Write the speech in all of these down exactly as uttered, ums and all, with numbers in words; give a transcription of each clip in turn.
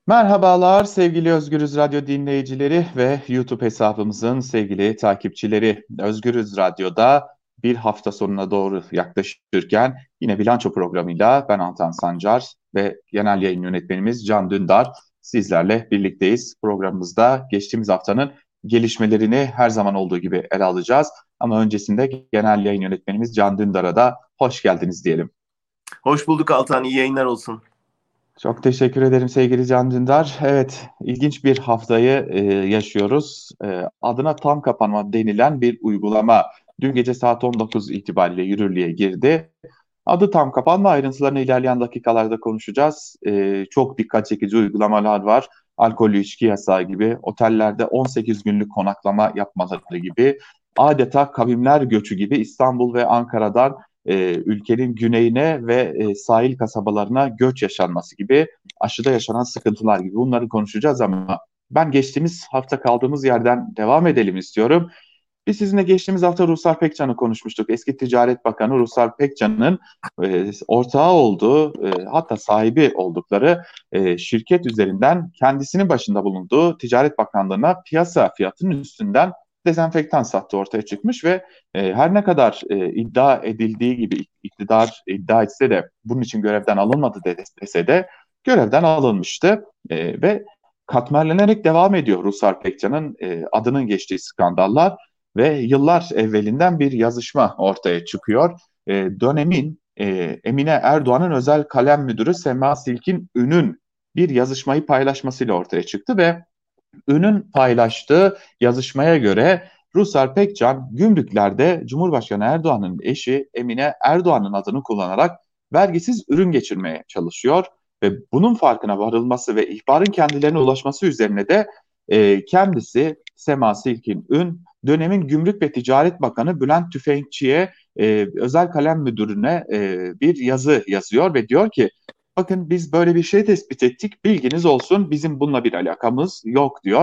Merhabalar sevgili Özgürüz Radyo dinleyicileri ve YouTube hesabımızın sevgili takipçileri. Özgürüz Radyo'da bir hafta sonuna doğru yaklaşırken yine bilanço programıyla ben Antan Sancar ve genel yayın yönetmenimiz Can Dündar sizlerle birlikteyiz. Programımızda geçtiğimiz haftanın gelişmelerini her zaman olduğu gibi ele alacağız. Ama öncesinde genel yayın yönetmenimiz Can Dündar'a da hoş geldiniz diyelim. Hoş bulduk Altan, iyi yayınlar olsun. Çok teşekkür ederim sevgili Can Dündar. Evet, ilginç bir haftayı e, yaşıyoruz. E, adına tam kapanma denilen bir uygulama dün gece saat on dokuz itibariyle yürürlüğe girdi. Adı tam kapanma, ayrıntılarını ilerleyen dakikalarda konuşacağız. E, çok dikkat çekici uygulamalar var. Alkollü içki yasağı gibi, otellerde on sekiz günlük konaklama yapmaları gibi, adeta kavimler göçü gibi İstanbul ve Ankara'dan e, ülkenin güneyine ve e, sahil kasabalarına göç yaşanması gibi, aşıda yaşanan sıkıntılar gibi bunları konuşacağız ama ben geçtiğimiz hafta kaldığımız yerden devam edelim istiyorum. Biz sizinle geçtiğimiz hafta Ruslar Pekcan'ı konuşmuştuk. Eski Ticaret Bakanı Ruslar Pekcan'ın e, ortağı olduğu, e, hatta sahibi oldukları e, şirket üzerinden kendisinin başında bulunduğu Ticaret Bakanlığı'na piyasa fiyatının üstünden dezenfektan sattığı ortaya çıkmış ve e, her ne kadar e, iddia edildiği gibi iktidar iddia etse de bunun için görevden alınmadı dese de görevden alınmıştı e, ve katmerlenerek devam ediyor Ruslar Pekcan'ın e, adının geçtiği skandallar ve yıllar evvelinden bir yazışma ortaya çıkıyor. E, dönemin e, Emine Erdoğan'ın özel kalem müdürü Sema Silkin Ün'ün bir yazışmayı paylaşmasıyla ortaya çıktı ve Ün'ün paylaştığı yazışmaya göre Ruslar Pekcan gümrüklerde Cumhurbaşkanı Erdoğan'ın eşi Emine Erdoğan'ın adını kullanarak vergisiz ürün geçirmeye çalışıyor ve bunun farkına varılması ve ihbarın kendilerine ulaşması üzerine de e, kendisi Sema Silkin Ün dönemin Gümrük ve Ticaret Bakanı Bülent Tüfekçi'ye e, özel kalem müdürüne e, bir yazı yazıyor ve diyor ki bakın biz böyle bir şey tespit ettik. Bilginiz olsun bizim bununla bir alakamız yok diyor.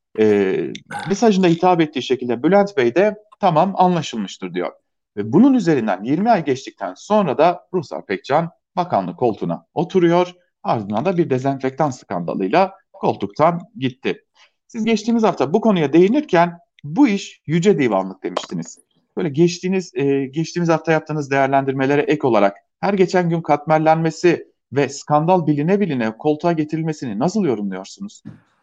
Ee, mesajında hitap ettiği şekilde Bülent Bey de tamam anlaşılmıştır diyor. Ve bunun üzerinden yirmi ay geçtikten sonra da Ruhsar Pekcan bakanlık koltuğuna oturuyor. Ardından da bir dezenfektan skandalıyla koltuktan gitti. Siz geçtiğimiz hafta bu konuya değinirken bu iş yüce divanlık demiştiniz. Böyle geçtiğiniz e, geçtiğimiz hafta yaptığınız değerlendirmelere ek olarak her geçen gün katmerlenmesi ve skandal biline biline koltuğa getirilmesini nasıl yorumluyorsunuz?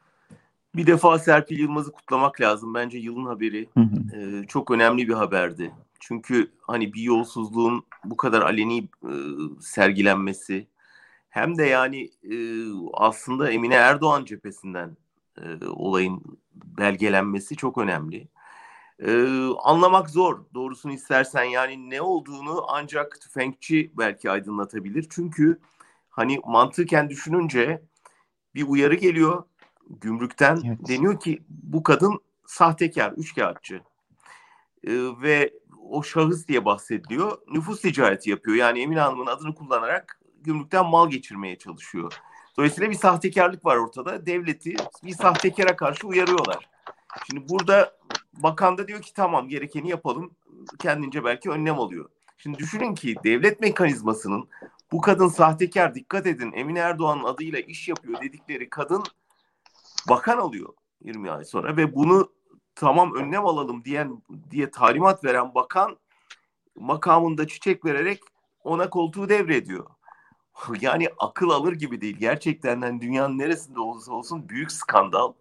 Bir defa Serpil Yılmaz'ı kutlamak lazım. Bence yılın haberi Hı hı. e, çok önemli bir haberdi. Çünkü hani bir yolsuzluğun bu kadar aleni e, sergilenmesi hem de yani e, aslında Emine Erdoğan cephesinden e, olayın belgelenmesi çok önemli. E, anlamak zor. Doğrusunu istersen yani ne olduğunu ancak tüfekçi belki aydınlatabilir. Çünkü hani mantıken düşününce bir uyarı geliyor gümrükten. Evet. Deniyor ki bu kadın sahtekar, üçkağıtçı. Ee, ve o şahıs diye bahsediliyor. Nüfus ticareti yapıyor. Yani Emine Hanım'ın adını kullanarak gümrükten mal geçirmeye çalışıyor. Dolayısıyla bir sahtekarlık var ortada. Devleti bir sahtekara karşı uyarıyorlar. Şimdi burada bakan da diyor ki tamam gerekeni yapalım. Kendince belki önlem alıyor. Şimdi düşünün ki devlet mekanizmasının bu kadın sahtekar, dikkat edin, Emine Erdoğan'ın adıyla iş yapıyor dedikleri kadın bakan alıyor yirmi ay sonra ve bunu tamam önlem alalım diyen diye talimat veren bakan makamında çiçek vererek ona koltuğu devrediyor. Yani akıl alır gibi değil. Gerçekten yani dünyanın neresinde olursa olsun büyük skandal.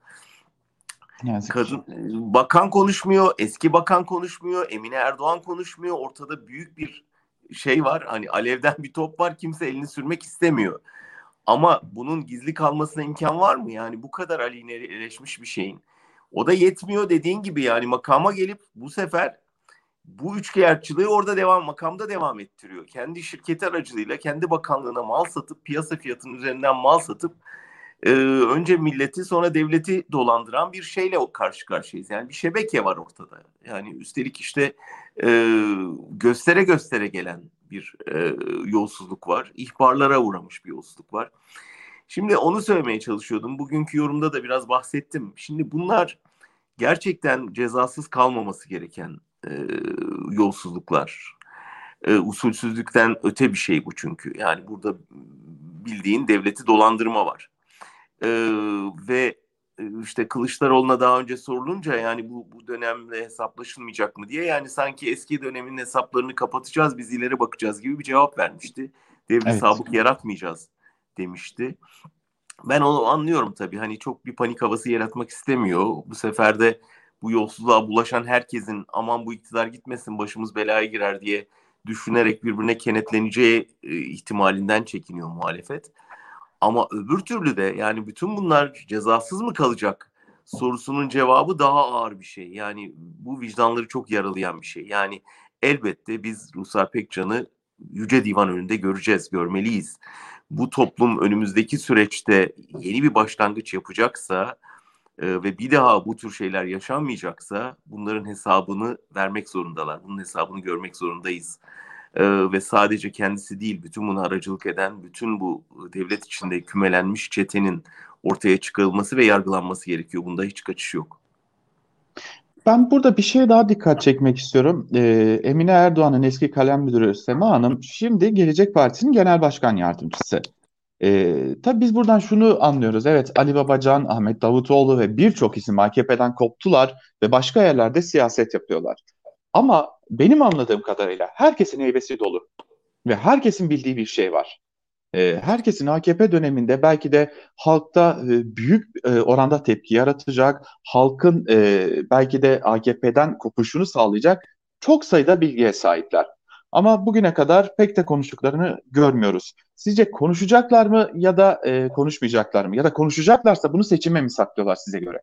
Ne yazık ki. Kadın bakan konuşmuyor, eski bakan konuşmuyor, Emine Erdoğan konuşmuyor. Ortada büyük bir şey var. Hani alevden bir top var. Kimse elini sürmek istemiyor. Ama bunun gizli kalmasına imkan var mı? Yani bu kadar aleyhineleşmiş bir şeyin. O da yetmiyor dediğin gibi yani makama gelip bu sefer bu üçkağıtçılığı orada devam, makamda devam ettiriyor. Kendi şirketi aracılığıyla kendi bakanlığına mal satıp piyasa fiyatının üzerinden mal satıp e, önce milleti sonra devleti dolandıran bir şeyle karşı karşıyayız. Yani bir şebeke var ortada. Yani üstelik işte e, göstere göstere gelen bir e, yolsuzluk var. İhbarlara uğramış bir yolsuzluk var. Şimdi onu söylemeye çalışıyordum. Bugünkü yorumda da biraz bahsettim. Şimdi bunlar gerçekten cezasız kalmaması gereken e, yolsuzluklar. E, usulsüzlükten öte bir şey bu çünkü. Yani burada bildiğin devleti dolandırma var. E, ve işte Kılıçdaroğlu'na daha önce sorulunca yani bu, bu dönemle hesaplaşılmayacak mı diye, yani sanki eski dönemin hesaplarını kapatacağız, biz ileri bakacağız gibi bir cevap vermişti. Devri Evet. sabık yaratmayacağız demişti. Ben onu anlıyorum tabii. Hani çok bir panik havası yaratmak istemiyor. Bu sefer de bu yolsuzluğa bulaşan herkesin aman bu iktidar gitmesin başımız belaya girer diye düşünerek birbirine kenetleneceği e, ihtimalinden çekiniyor muhalefet. Ama öbür türlü de yani bütün bunlar cezasız mı kalacak sorusunun cevabı daha ağır bir şey. Yani bu vicdanları çok yaralayan bir şey. Yani elbette biz Ruslar Pekcan'ı Yüce Divan önünde göreceğiz, görmeliyiz. Bu toplum önümüzdeki süreçte yeni bir başlangıç yapacaksa e, ve bir daha bu tür şeyler yaşanmayacaksa bunların hesabını vermek zorundalar. Bunun hesabını görmek zorundayız. Ee, ve sadece kendisi değil, bütün bunu aracılık eden bütün bu devlet içinde kümelenmiş çetenin ortaya çıkarılması ve yargılanması gerekiyor. Bunda hiç kaçış yok. Ben burada bir şeye daha dikkat çekmek istiyorum. Ee, Emine Erdoğan'ın eski kalem müdürü Sema Hanım şimdi Gelecek Partisi'nin genel başkan yardımcısı. Ee, tabii biz buradan şunu anlıyoruz. Evet, Ali Babacan, Ahmet Davutoğlu ve birçok isim A K P'den koptular ve başka yerlerde siyaset yapıyorlar. Ama benim anladığım kadarıyla herkesin heybesi dolu ve herkesin bildiği bir şey var. E, herkesin A K P döneminde belki de halkta e, büyük e, oranda tepki yaratacak, halkın e, belki de A K P'den kopuşunu sağlayacak çok sayıda bilgiye sahipler. Ama bugüne kadar pek de konuştuklarını görmüyoruz. Sizce konuşacaklar mı ya da e, konuşmayacaklar mı? Ya da konuşacaklarsa bunu seçime mi saklıyorlar size göre?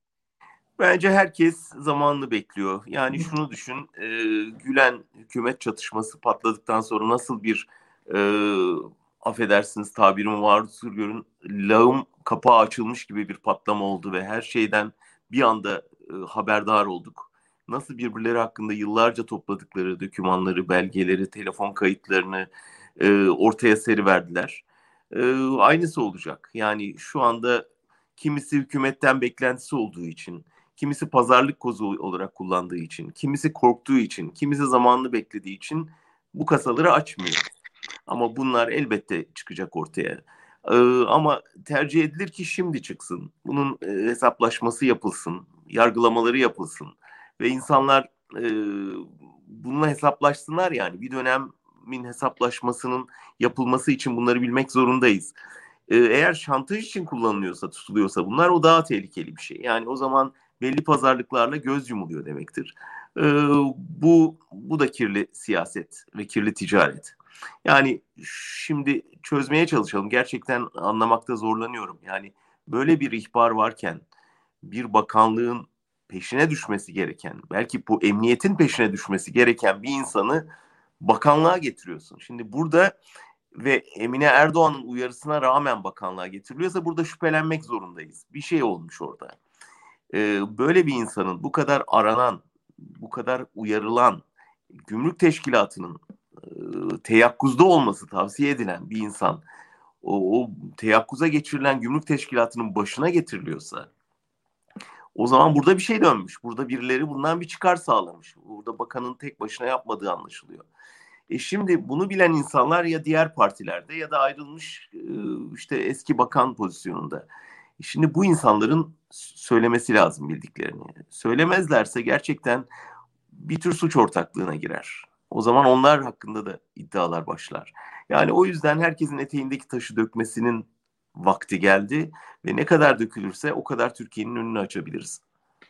Bence herkes zamanını bekliyor. Yani şunu düşün, e, Gülen hükümet çatışması patladıktan sonra nasıl bir e, affedersiniz tabirimi var görün, lağım kapağı açılmış gibi bir patlama oldu ve her şeyden bir anda e, haberdar olduk. Nasıl birbirleri hakkında yıllarca topladıkları dokümanları, belgeleri, telefon kayıtlarını e, ortaya seriverdiler. E, aynısı olacak. Yani şu anda kimisi hükümetten beklentisi olduğu için, kimisi pazarlık kozu olarak kullandığı için, kimisi korktuğu için, kimisi zamanını beklediği için bu kasaları açmıyor. Ama bunlar elbette çıkacak ortaya. Ee, ama tercih edilir ki şimdi çıksın. Bunun e, hesaplaşması yapılsın, yargılamaları yapılsın ve insanlar e, bununla hesaplaşsınlar yani. Bir dönemin hesaplaşmasının yapılması için bunları bilmek zorundayız. Ee, eğer şantaj için kullanılıyorsa, tutuluyorsa bunlar, o daha tehlikeli bir şey. Yani o zaman belli pazarlıklarla göz yumuluyor demektir. Ee, bu bu da kirli siyaset ve kirli ticaret. Yani şimdi çözmeye çalışalım. Gerçekten anlamakta zorlanıyorum. Yani böyle bir ihbar varken bir bakanlığın peşine düşmesi gereken, belki bu emniyetin peşine düşmesi gereken bir insanı bakanlığa getiriyorsun. Şimdi burada ve Emine Erdoğan'ın uyarısına rağmen bakanlığa getiriliyorsa burada şüphelenmek zorundayız. Bir şey olmuş orada. Ee, böyle bir insanın bu kadar aranan, bu kadar uyarılan, gümrük teşkilatının e, teyakkuzda olması tavsiye edilen bir insan o, o teyakkuza geçirilen gümrük teşkilatının başına getiriliyorsa o zaman burada bir şey dönmüş. Burada birileri bundan bir çıkar sağlamış. Burada bakanın tek başına yapmadığı anlaşılıyor. E şimdi bunu bilen insanlar ya diğer partilerde ya da ayrılmış e, işte eski bakan pozisyonunda. E şimdi bu insanların söylemesi lazım bildiklerini. Söylemezlerse gerçekten bir tür suç ortaklığına girer. O zaman onlar hakkında da iddialar başlar. Yani o yüzden herkesin eteğindeki taşı dökmesinin vakti geldi ve ne kadar dökülürse o kadar Türkiye'nin önünü açabiliriz.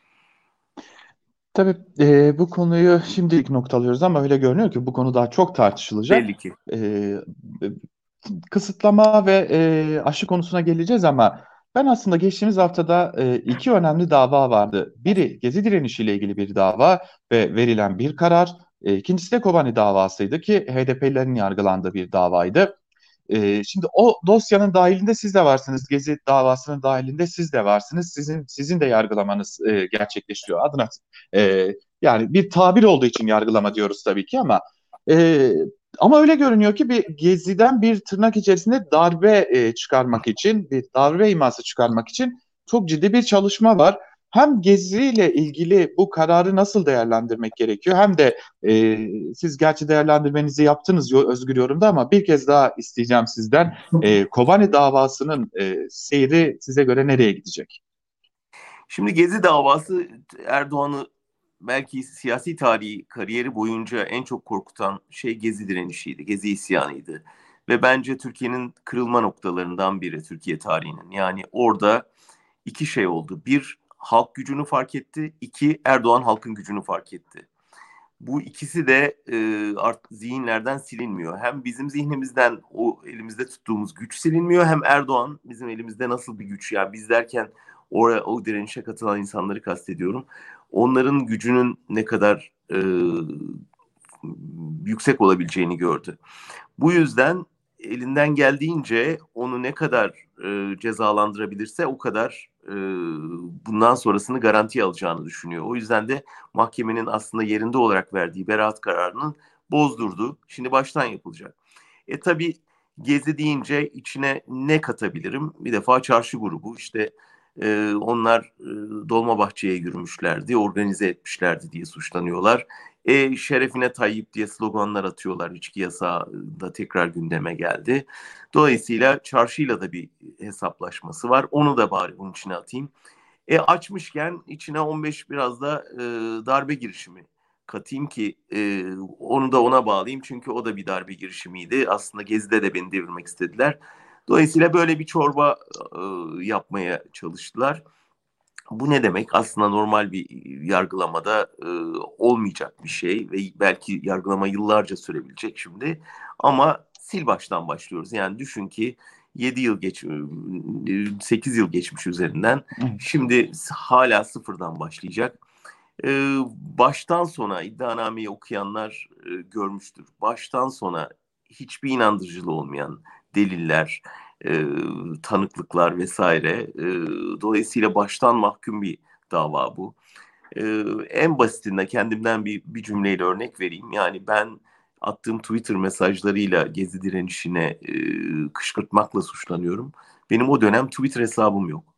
Tabii e, bu konuyu şimdilik noktalıyoruz ama öyle görünüyor ki bu konu daha çok tartışılacak. Belli ki. E, Kısıtlama ve e, aşı konusuna geleceğiz ama ben aslında geçtiğimiz haftada e, iki önemli dava vardı. Biri Gezi direnişiyle ilgili bir dava ve verilen bir karar. E, ikincisi de Kobani davasıydı ki H D P'lilerin yargılandığı bir davaydı. Ee, şimdi o dosyanın dahilinde siz de varsınız. Gezi davasının dahilinde siz de varsınız. Sizin sizin de yargılamanız e, gerçekleşiyor adına. E, Yani bir tabir olduğu için yargılama diyoruz tabii ki ama e, ama öyle görünüyor ki bir Gezi'den bir tırnak içerisinde darbe e, çıkarmak için, bir darbe iması çıkarmak için çok ciddi bir çalışma var. hem Gezi ile ilgili bu kararı nasıl değerlendirmek gerekiyor, hem de e, siz gerçi değerlendirmenizi yaptınız Özgür Yorum'da, ama bir kez daha isteyeceğim sizden. E, Kobani davasının e, seyri size göre nereye gidecek? Şimdi Gezi davası Erdoğan'ı belki siyasi tarihi kariyeri boyunca en çok korkutan şey Gezi direnişiydi, Gezi isyanıydı. Ve bence Türkiye'nin kırılma noktalarından biri Türkiye tarihinin. Yani orada iki şey oldu. Bir, halk gücünü fark etti. İki, Erdoğan halkın gücünü fark etti. Bu ikisi de e, artık zihinlerden silinmiyor. Hem bizim zihnimizden o elimizde tuttuğumuz güç silinmiyor, hem Erdoğan bizim elimizde nasıl bir güç, yani biz derken oraya, o direnişe katılan insanları kastediyorum. Onların gücünün ne kadar e, yüksek olabileceğini gördü. Bu yüzden elinden geldiğince onu ne kadar e, cezalandırabilirse o kadar e, bundan sonrasını garantiye alacağını düşünüyor. O yüzden de mahkemenin aslında yerinde olarak verdiği beraat kararının bozdurdu. Şimdi baştan yapılacak. E tabii Gezi deyince içine ne katabilirim? Bir defa çarşı grubu, işte e, onlar e, Dolmabahçe'ye yürümüşlerdi, organize etmişlerdi diye suçlanıyorlar. E, şerefine Tayyip diye sloganlar atıyorlar. İçki yasağı da tekrar gündeme geldi. Dolayısıyla çarşıyla da bir hesaplaşması var. Onu da bari bunun içine atayım. E, açmışken içine on beş biraz da e, darbe girişimi katayım ki e, onu da ona bağlayayım. Çünkü o da bir darbe girişimiydi. Aslında Gezi'de de beni devirmek istediler. Dolayısıyla böyle bir çorba e, yapmaya çalıştılar. Bu ne demek? Aslında normal bir yargılamada e, olmayacak bir şey ve belki yargılama yıllarca sürebilecek şimdi. Ama sil baştan başlıyoruz. Yani düşün ki yedi yıl geç, sekiz yıl geçmiş üzerinden. Şimdi hala sıfırdan başlayacak. E, baştan sona iddianameyi okuyanlar e, görmüştür. Baştan sona hiçbir inandırıcılığı olmayan deliller, e, tanıklıklar vesaire. E, dolayısıyla baştan mahkum bir dava bu. E, en basitinden kendimden bir, bir cümleyle örnek vereyim. Yani ben attığım Twitter mesajlarıyla Gezi direnişine e, kışkırtmakla suçlanıyorum. Benim o dönem Twitter hesabım yok.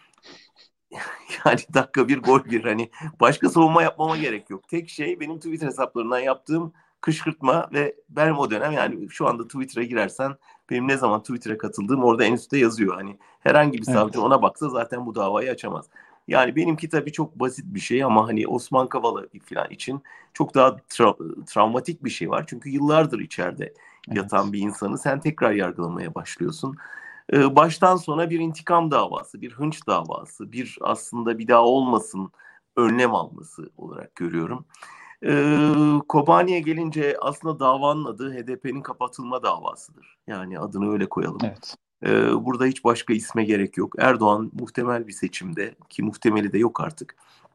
Yani dakika bir gol bir, hani başka savunma yapmama gerek yok. Tek şey benim Twitter hesaplarından yaptığım kışkırtma ve ben o dönem, yani şu anda Twitter'a girersen benim ne zaman Twitter'a katıldığım orada en üstte yazıyor. Hani herhangi bir savcı Evet. ona baksa zaten bu davayı açamaz. Yani benimki tabii çok basit bir şey ama hani Osman Kavala falan için çok daha tra- travmatik bir şey var. Çünkü yıllardır içeride Evet. yatan bir insanı sen tekrar yargılamaya başlıyorsun. Ee, baştan sona bir intikam davası, bir hınç davası, bir aslında bir daha olmasın önlem alması olarak görüyorum. Ee, Kobani'ye gelince aslında davanın adı H D P'nin kapatılma davasıdır. Yani adını öyle koyalım. Evet. Ee, burada hiç başka isme gerek yok. Erdoğan muhtemel bir seçimde, ki muhtemeli de yok artık,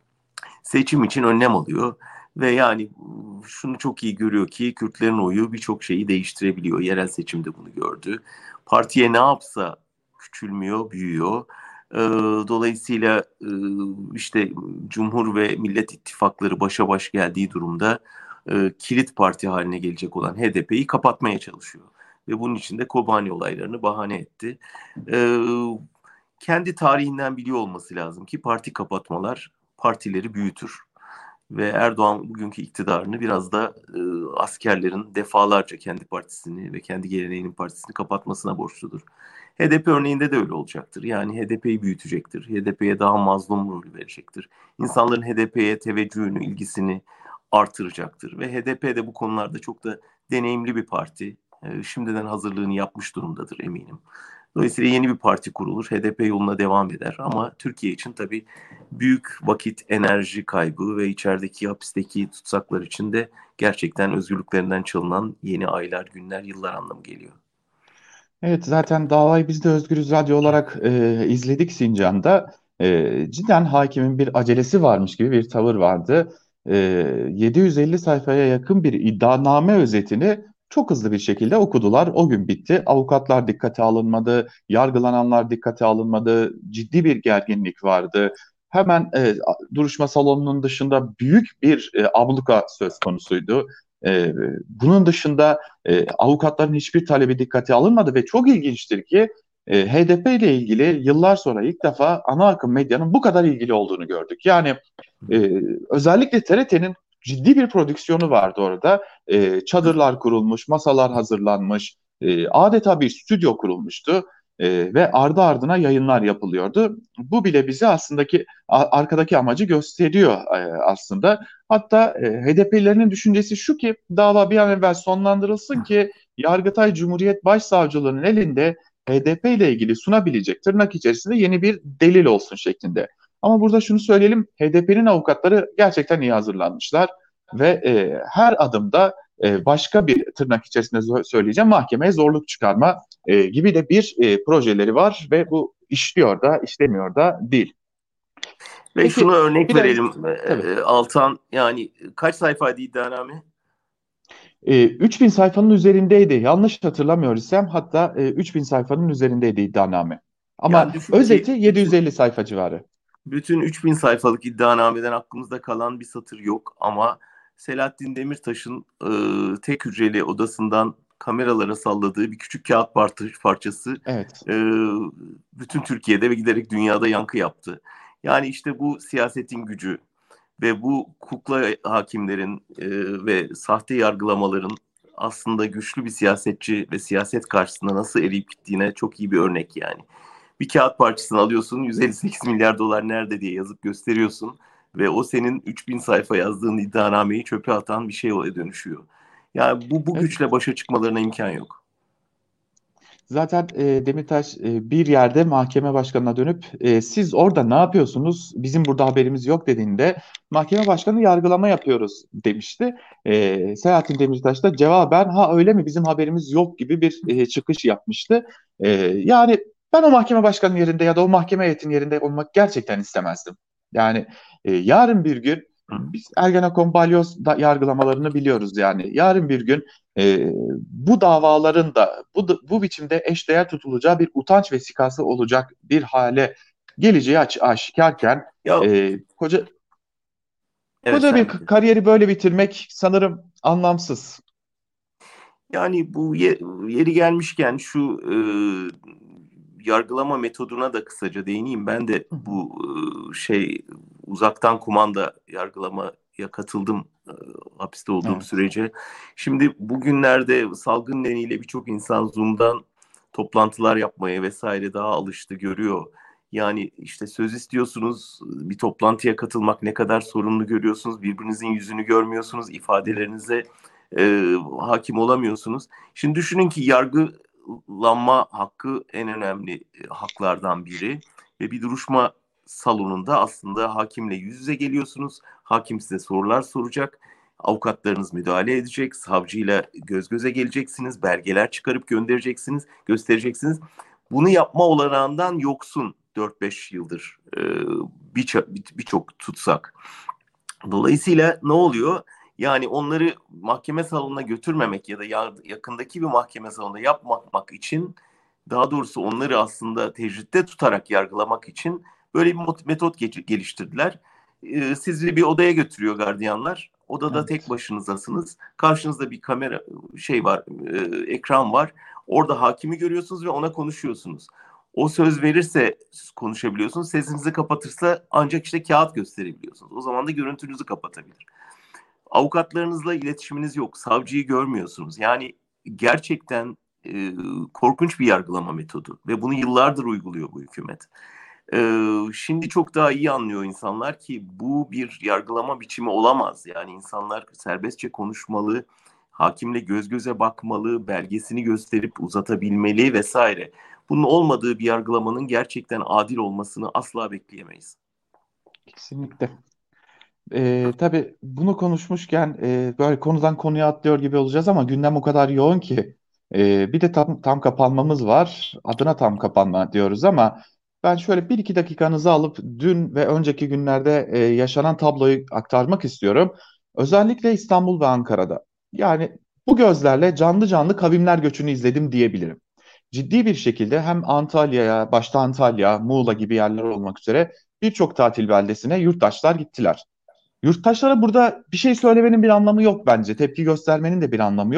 seçim için önlem alıyor. Ve yani şunu çok iyi görüyor ki Kürtlerin oyu birçok şeyi değiştirebiliyor. Yerel seçimde bunu gördü. Partiye ne yapsa küçülmüyor, büyüyor. Ee, dolayısıyla e, işte Cumhur ve Millet İttifakları başa baş geldiği durumda e, kilit parti haline gelecek olan H D P'yi kapatmaya çalışıyor. Ve bunun için de Kobani olaylarını bahane etti. Ee, kendi tarihinden biliyor olması lazım ki parti kapatmalar partileri büyütür. Ve Erdoğan bugünkü iktidarını biraz da e, askerlerin defalarca kendi partisini ve kendi geleneğinin partisini kapatmasına borçludur. H D P örneğinde de öyle olacaktır. Yani H D P'yi büyütecektir. H D P'ye daha mazlum rolü verecektir. İnsanların H D P'ye teveccühünü, ilgisini artıracaktır. Ve H D P de bu konularda çok da deneyimli bir parti. E, şimdiden hazırlığını yapmış durumdadır eminim. Dolayısıyla yeni bir parti kurulur. H D P yoluna devam eder. Ama Türkiye için tabii büyük vakit, enerji kaybı ve içerideki hapisteki tutsaklar için de gerçekten özgürlüklerinden çalınan yeni aylar, günler, yıllar anlamı geliyor. Evet, zaten davayı biz de Özgürüz Radyo olarak e, izledik Sincan'da. E, cidden hakimin bir acelesi varmış gibi bir tavır vardı. E, yedi yüz elli sayfaya yakın bir iddianame özetini çok hızlı bir şekilde okudular. O gün bitti. Avukatlar dikkate alınmadı, yargılananlar dikkate alınmadı. Ciddi bir gerginlik vardı. Hemen e, duruşma salonunun dışında büyük bir e, abluka söz konusuydu. E, bunun dışında e, avukatların hiçbir talebi dikkate alınmadı ve çok ilginçtir ki e, H D P ile ilgili yıllar sonra ilk defa ana akım medyanın bu kadar ilgili olduğunu gördük. Yani e, özellikle T R T'nin ciddi bir prodüksiyonu vardı orada. E, çadırlar kurulmuş, masalar hazırlanmış, e, adeta bir stüdyo kurulmuştu. E, ve ardı ardına yayınlar yapılıyordu. Bu bile bize aslında ki a- arkadaki amacı gösteriyor e, aslında. Hatta e, H D P'lilerin düşüncesi şu ki dava bir an evvel sonlandırılsın ki Yargıtay Cumhuriyet Başsavcılığının elinde H D P ile ilgili sunabilecek tırnak içerisinde yeni bir delil olsun şeklinde. Ama burada şunu söyleyelim, H D P'nin avukatları gerçekten iyi hazırlanmışlar ve e, her adımda e, başka bir tırnak içerisinde söyleyeceğim mahkemeye zorluk çıkarma e, gibi de bir e, projeleri var ve bu işliyor da işlemiyor da değil. Ve şunu Peki örnek biraz verelim tabii. e, Altan, yani kaç sayfaydı iddianame? E, üç bin sayfanın üzerindeydi. Yanlış hatırlamıyorsam hatta e, üç bin sayfanın üzerindeydi iddianame. Yani Ama düşün özeti ki bütün yedi yüz elli sayfa civarı. bütün üç bin sayfalık iddianameden aklımızda kalan bir satır yok ama Selahattin Demirtaş'ın e, tek hücreli odasından kameralara salladığı bir küçük kağıt parçası Evet. e, bütün Türkiye'de ve giderek dünyada yankı yaptı. Yani işte bu siyasetin gücü ve bu kukla hakimlerin e, ve sahte yargılamaların aslında güçlü bir siyasetçi ve siyaset karşısında nasıl eriyip gittiğine çok iyi bir örnek yani. Bir kağıt parçasını alıyorsun, yüz elli sekiz milyar dolar nerede diye yazıp gösteriyorsun ve o senin üç bin sayfa yazdığın iddianameyi çöpe atan bir şeye dönüşüyor. Yani bu, bu Evet. güçle başa çıkmalarına imkan yok. Zaten e, Demirtaş e, bir yerde mahkeme başkanına dönüp e, siz orada ne yapıyorsunuz? Bizim burada haberimiz yok dediğinde mahkeme başkanı yargılama yapıyoruz demişti. E, Selahattin Demirtaş da cevaben ha öyle mi bizim haberimiz yok gibi bir e, çıkış yapmıştı. E, yani ben o mahkeme başkanının yerinde ya da o mahkeme heyetinin yerinde olmak gerçekten istemezdim. Yani e, yarın bir gün biz Ergenekon balyoz da yargılamalarını biliyoruz yani. Yarın bir gün e, bu davaların da bu, bu biçimde eşdeğer tutulacağı bir utanç vesikası olacak bir hale geleceği aç, aşikarken Ya e, koca evet, koca bir sen k- bitir. kariyeri böyle bitirmek sanırım anlamsız. Yani bu ye- yeri gelmişken şu e, yargılama metoduna da kısaca değineyim. Ben de Hı hı. bu e, şey uzaktan kumanda yargılamaya katıldım e, hapiste olduğum Evet. sürece. Şimdi bugünlerde salgın nedeniyle birçok insan Zoom'dan toplantılar yapmaya vesaire daha alıştı, görüyor. Yani işte söz istiyorsunuz, bir toplantıya katılmak ne kadar sorunlu görüyorsunuz, birbirinizin yüzünü görmüyorsunuz, ifadelerinize e, hakim olamıyorsunuz. Şimdi düşünün ki yargılanma hakkı en önemli e, haklardan biri ve bir duruşma salonunda aslında hakimle yüz yüze geliyorsunuz. Hakim size sorular soracak. Avukatlarınız müdahale edecek, savcıyla göz göze geleceksiniz, belgeler çıkarıp göndereceksiniz, göstereceksiniz. Bunu yapma olanağından yoksun dört beş yıldır e, birçok bir, çok tutsak. Dolayısıyla ne oluyor? Yani onları mahkeme salonuna götürmemek ya da yakındaki bir mahkeme salonunda yapmamak için, daha doğrusu onları aslında tecritte tutarak yargılamak için böyle bir metot geliştirdiler. Ee, sizi bir odaya götürüyor gardiyanlar. Odada tek Evet. başınızdasınız. Karşınızda bir kamera şey var, e, ekran var. Orada hakimi görüyorsunuz ve ona konuşuyorsunuz. O söz verirse konuşabiliyorsunuz. Sesinizi kapatırsa ancak işte kağıt gösterebiliyorsunuz. O zaman da görüntünüzü kapatabilir. Avukatlarınızla iletişiminiz yok. Savcıyı görmüyorsunuz. Yani gerçekten e, korkunç bir yargılama metodu ve bunu yıllardır uyguluyor bu hükümet. E, şimdi çok daha iyi anlıyor insanlar ki bu bir yargılama biçimi olamaz. Yani insanlar serbestçe konuşmalı, hakimle göz göze bakmalı, belgesini gösterip uzatabilmeli vesaire. Bunun olmadığı bir yargılamanın gerçekten adil olmasını asla bekleyemeyiz. Kesinlikle. Ee, tabii bunu konuşmuşken e, böyle konudan konuya atlıyor gibi olacağız ama gündem o kadar yoğun ki e, bir de tam, tam kapanmamız var. Adına tam kapanma diyoruz ama ben şöyle bir iki dakikanızı alıp dün ve önceki günlerde e, yaşanan tabloyu aktarmak istiyorum. Özellikle İstanbul ve Ankara'da. Yani bu gözlerle canlı canlı kavimler göçünü izledim diyebilirim. Ciddi bir şekilde hem Antalya'ya, başta Antalya, Muğla gibi yerler olmak üzere birçok tatil beldesine yurttaşlar gittiler. Yurttaşlara burada bir şey söylemenin bir anlamı yok bence. Tepki göstermenin de bir anlamı yok.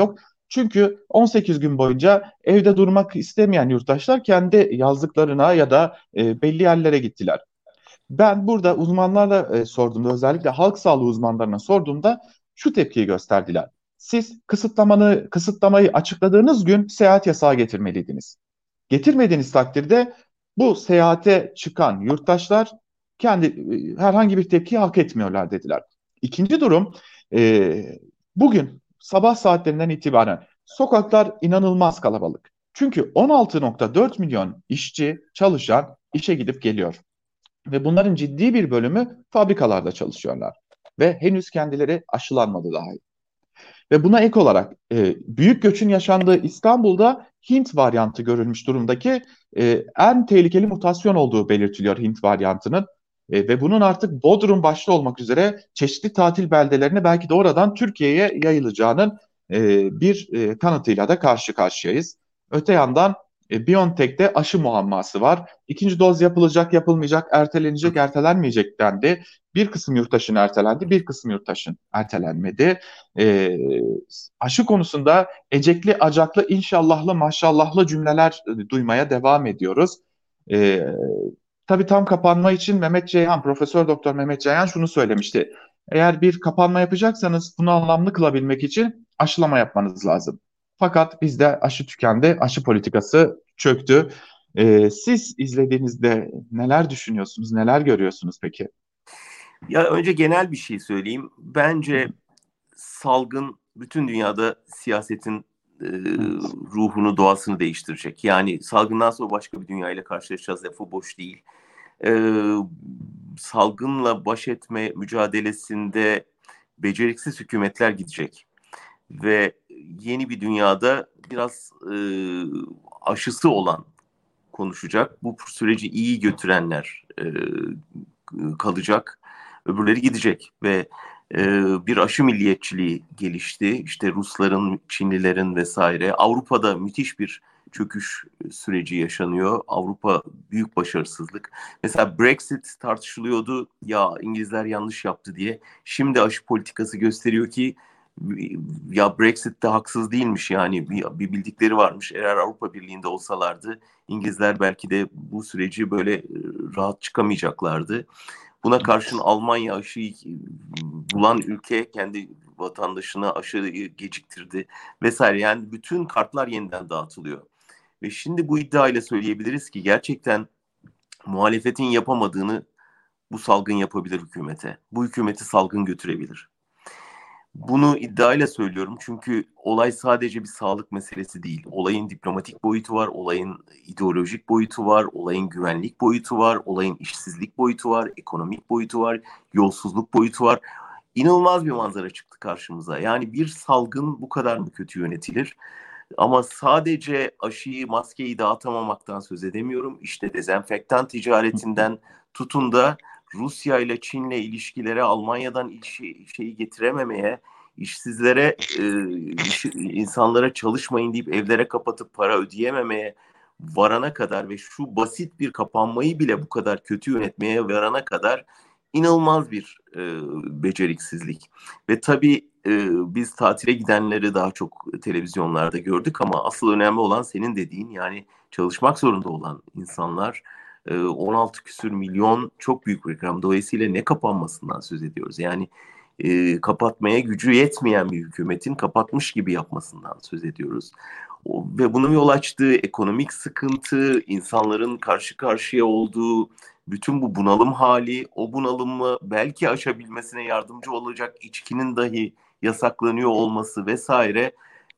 Çünkü on sekiz gün boyunca evde durmak istemeyen yurttaşlar kendi yazlıklarına ya da e, belli yerlere gittiler. Ben burada uzmanlarla e, sorduğumda, özellikle halk sağlığı uzmanlarına sorduğumda şu tepkiyi gösterdiler. Siz kısıtlamanı, kısıtlamayı açıkladığınız gün seyahat yasağı getirmeliydiniz. Getirmediğiniz takdirde bu seyahate çıkan yurttaşlar kendi e, herhangi bir tepki hak etmiyorlar dediler. İkinci durum, e, bugün sabah saatlerinden itibaren sokaklar inanılmaz kalabalık. Çünkü on altı nokta dört milyon işçi, çalışan işe gidip geliyor. Ve bunların ciddi bir bölümü fabrikalarda çalışıyorlar. Ve henüz kendileri aşılanmadı dahi. Ve buna ek olarak e, büyük göçün yaşandığı İstanbul'da Hint varyantı görülmüş durumdaki e, en tehlikeli mutasyon olduğu belirtiliyor Hint varyantının. E, ve bunun artık Bodrum başta olmak üzere çeşitli tatil beldelerine, belki de oradan Türkiye'ye yayılacağının e, bir e, kanıtıyla da karşı karşıyayız. Öte yandan e, BioNTech'te aşı muamması var. İkinci doz yapılacak, yapılmayacak, ertelenecek, ertelenmeyecek dendi. Bir kısım yurttaşın ertelendi, bir kısım yurttaşın ertelenmedi. E, Aşı konusunda ecekli, acaklı, inşallahlı, maşallahlı cümleler e, duymaya devam ediyoruz. E, tabii tam kapanma için Mehmet Ceyhan, Profesör Doktor Mehmet Ceyhan şunu söylemişti. Eğer bir kapanma yapacaksanız bunu anlamlı kılabilmek için aşılama yapmanız lazım. Fakat bizde aşı tükendi, aşı politikası çöktü. E, siz izlediğinizde neler düşünüyorsunuz, neler görüyorsunuz peki? Ya önce genel bir şey söyleyeyim. Bence salgın bütün dünyada siyasetin e, Evet. ruhunu, doğasını değiştirecek. Yani salgından sonra başka bir dünya ile karşılaşacağız, lafı boş değil. E, salgınla baş etme mücadelesinde beceriksiz hükümetler gidecek. Ve yeni bir dünyada biraz e, aşısı olan konuşacak. Bu süreci iyi götürenler e, kalacak. Öbürleri gidecek ve e, bir aşı milliyetçiliği gelişti. İşte Rusların, Çinlilerin vesaire. Avrupa'da müthiş bir çöküş süreci yaşanıyor. Avrupa büyük başarısızlık. Mesela Brexit tartışılıyordu. Ya İngilizler yanlış yaptı diye. Şimdi aşı politikası gösteriyor ki ya Brexit de haksız değilmiş, yani bir, bir bildikleri varmış. Eğer Avrupa Birliği'nde olsalardı İngilizler belki de bu süreci böyle rahat çıkamayacaklardı. Buna karşın Almanya aşıyı bulan ülke kendi vatandaşına aşıyı geciktirdi vesaire. Yani bütün kartlar yeniden dağıtılıyor. Ve şimdi bu iddiayla söyleyebiliriz ki gerçekten muhalefetin yapamadığını bu salgın yapabilir hükümete. Bu hükümeti salgın götürebilir. Bunu iddiayla söylüyorum çünkü olay sadece bir sağlık meselesi değil. Olayın diplomatik boyutu var, olayın ideolojik boyutu var, olayın güvenlik boyutu var, olayın işsizlik boyutu var, ekonomik boyutu var, yolsuzluk boyutu var. İnanılmaz bir manzara çıktı karşımıza. Yani bir salgın bu kadar mı kötü yönetilir? Ama sadece aşıyı, maskeyi dağıtamamaktan söz edemiyorum. İşte dezenfektan ticaretinden tutun da Rusya ile Çin'le ilişkilere, Almanya'dan işi, şeyi getirememeye, işsizlere, e, iş, insanlara çalışmayın deyip evlere kapatıp para ödeyememeye varana kadar ve şu basit bir kapanmayı bile bu kadar kötü yönetmeye varana kadar inanılmaz bir e, beceriksizlik. Ve tabii e, biz tatile gidenleri daha çok televizyonlarda gördük ama asıl önemli olan senin dediğin, yani çalışmak zorunda olan insanlar. e, on altı küsür milyon çok büyük bir rakam. Dolayısıyla ne kapanmasından söz ediyoruz? Yani e, kapatmaya gücü yetmeyen bir hükümetin kapatmış gibi yapmasından söz ediyoruz. O, ve bunun yol açtığı ekonomik sıkıntı, insanların karşı karşıya olduğu bütün bu bunalım hali, o bunalımı belki aşabilmesine yardımcı olacak içkinin dahi yasaklanıyor olması vesaire.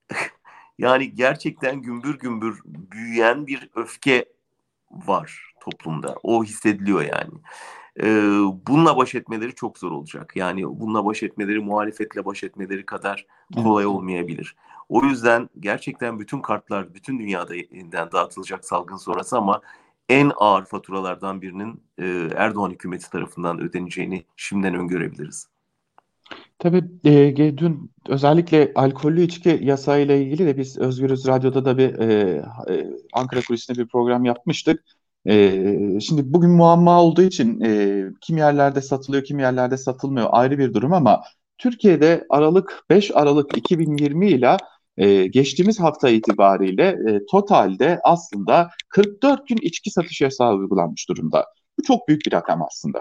Yani gerçekten gümbür gümbür büyüyen bir öfke var toplumda. O hissediliyor yani. Ee, bununla baş etmeleri çok zor olacak. Yani bununla baş etmeleri, muhalefetle baş etmeleri kadar kolay Evet. olmayabilir. O yüzden gerçekten bütün kartlar bütün dünyada yeniden dağıtılacak salgın sonrası ama en ağır faturalardan birinin e, Erdoğan hükümeti tarafından ödeneceğini şimdiden öngörebiliriz. Tabii e, ge- dün özellikle alkollü içki yasağıyla ilgili de biz Özgürüz Radyo'da da bir e, e, Ankara Kulisi'nde bir program yapmıştık. E, şimdi bugün muamma olduğu için e, kim yerlerde satılıyor, kim yerlerde satılmıyor ayrı bir durum ama Türkiye'de Aralık beş Aralık iki bin yirmi ile E, geçtiğimiz hafta itibariyle e, totalde aslında kırk dört gün içki satış yasağı uygulanmış durumda. Bu çok büyük bir rakam aslında.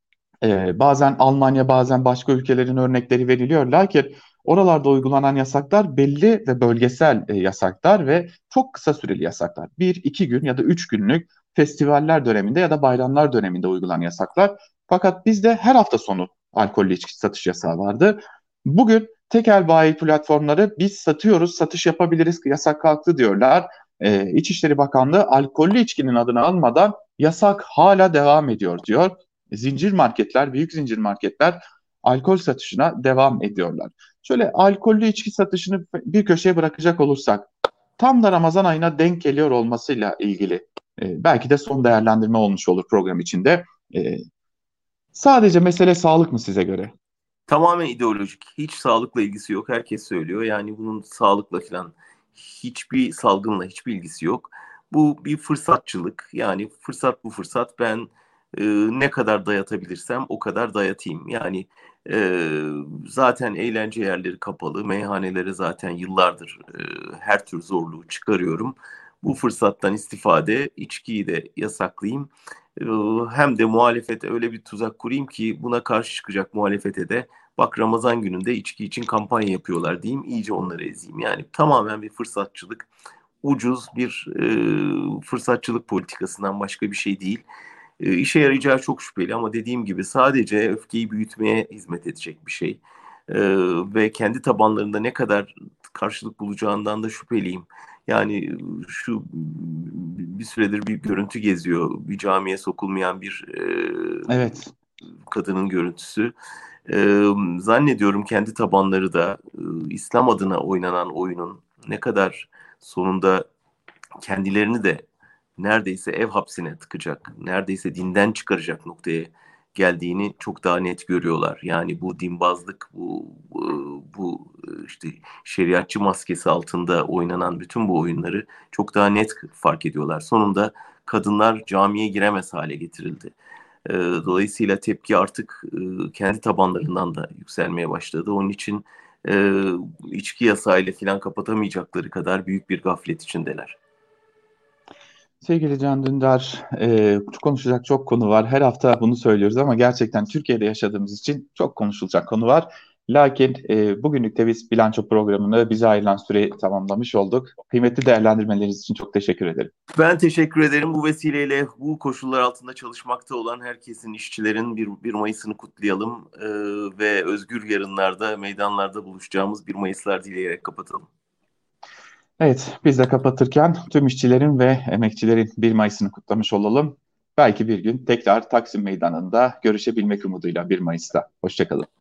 Ee, bazen Almanya, bazen başka ülkelerin örnekleri veriliyor. Lakin oralarda uygulanan yasaklar belli ve bölgesel e, yasaklar ve çok kısa süreli yasaklar. Bir, iki gün ya da üç günlük festivaller döneminde ya da bayramlar döneminde uygulanan yasaklar. Fakat bizde her hafta sonu alkollü içki satış yasağı vardı. Bugün tekel bayi platformları biz satıyoruz, satış yapabiliriz, yasak kalktı diyorlar. Ee, İçişleri Bakanlığı alkollü içkinin adını almadan yasak hala devam ediyor diyor. Zincir marketler, büyük zincir marketler alkol satışına devam ediyorlar. Şöyle alkollü içki satışını bir köşeye bırakacak olursak, tam da Ramazan ayına denk geliyor olmasıyla ilgili e, belki de son değerlendirme olmuş olur program içinde. E, sadece mesele sağlık mı size göre? Tamamen ideolojik. Hiç sağlıkla ilgisi yok. Herkes söylüyor. Yani bunun sağlıkla falan hiçbir salgınla hiçbir ilgisi yok. Bu bir fırsatçılık. Yani fırsat bu fırsat. Ben e, ne kadar dayatabilirsem o kadar dayatayım. Yani e, zaten eğlence yerleri kapalı. Meyhanelere zaten yıllardır e, her tür zorluğu çıkarıyorum. Bu fırsattan istifade içkiyi de yasaklayayım. E, hem de muhalefete öyle bir tuzak kurayım ki buna karşı çıkacak muhalefete de bak Ramazan gününde içki için kampanya yapıyorlar diyeyim, iyice onları ezeyim. Yani tamamen bir fırsatçılık, ucuz bir e, fırsatçılık politikasından başka bir şey değil. E, işe yarayacağı çok şüpheli ama dediğim gibi sadece öfkeyi büyütmeye hizmet edecek bir şey. E, ve kendi tabanlarında ne kadar karşılık bulacağından da şüpheliyim. Yani şu bir süredir bir görüntü geziyor. Bir camiye sokulmayan bir e, Evet. kadının görüntüsü. Ee, zannediyorum kendi tabanları da e, İslam adına oynanan oyunun ne kadar sonunda kendilerini de neredeyse ev hapsine tıkacak, neredeyse dinden çıkaracak noktaya geldiğini çok daha net görüyorlar. Yani bu dinbazlık, bu bu, bu işte şeriatçı maskesi altında oynanan bütün bu oyunları çok daha net fark ediyorlar. Sonunda kadınlar camiye giremez hale getirildi. E, dolayısıyla tepki artık e, kendi tabanlarından da yükselmeye başladı. Onun için e, içki yasağıyla falan kapatamayacakları kadar büyük bir gaflet içindeler. Sevgili Can Dündar, e, konuşacak çok konu var. Her hafta bunu söylüyoruz ama gerçekten Türkiye'de yaşadığımız için çok konuşulacak konu var. Lakin e, bugünlük de biz bilanço programını bize ayrılan süreyi tamamlamış olduk. Kıymetli değerlendirmeleriniz için çok teşekkür ederim. Ben teşekkür ederim. Bu vesileyle bu koşullar altında çalışmakta olan herkesin, işçilerin bir, bir Mayıs'ını kutlayalım ee, ve özgür yarınlarda, meydanlarda buluşacağımız bir Mayıslar dileyerek kapatalım. Evet, biz de kapatırken tüm işçilerin ve emekçilerin bir Mayıs'ını kutlamış olalım. Belki bir gün tekrar Taksim Meydanı'nda görüşebilmek umuduyla bir Mayıs'ta. Hoşçakalın.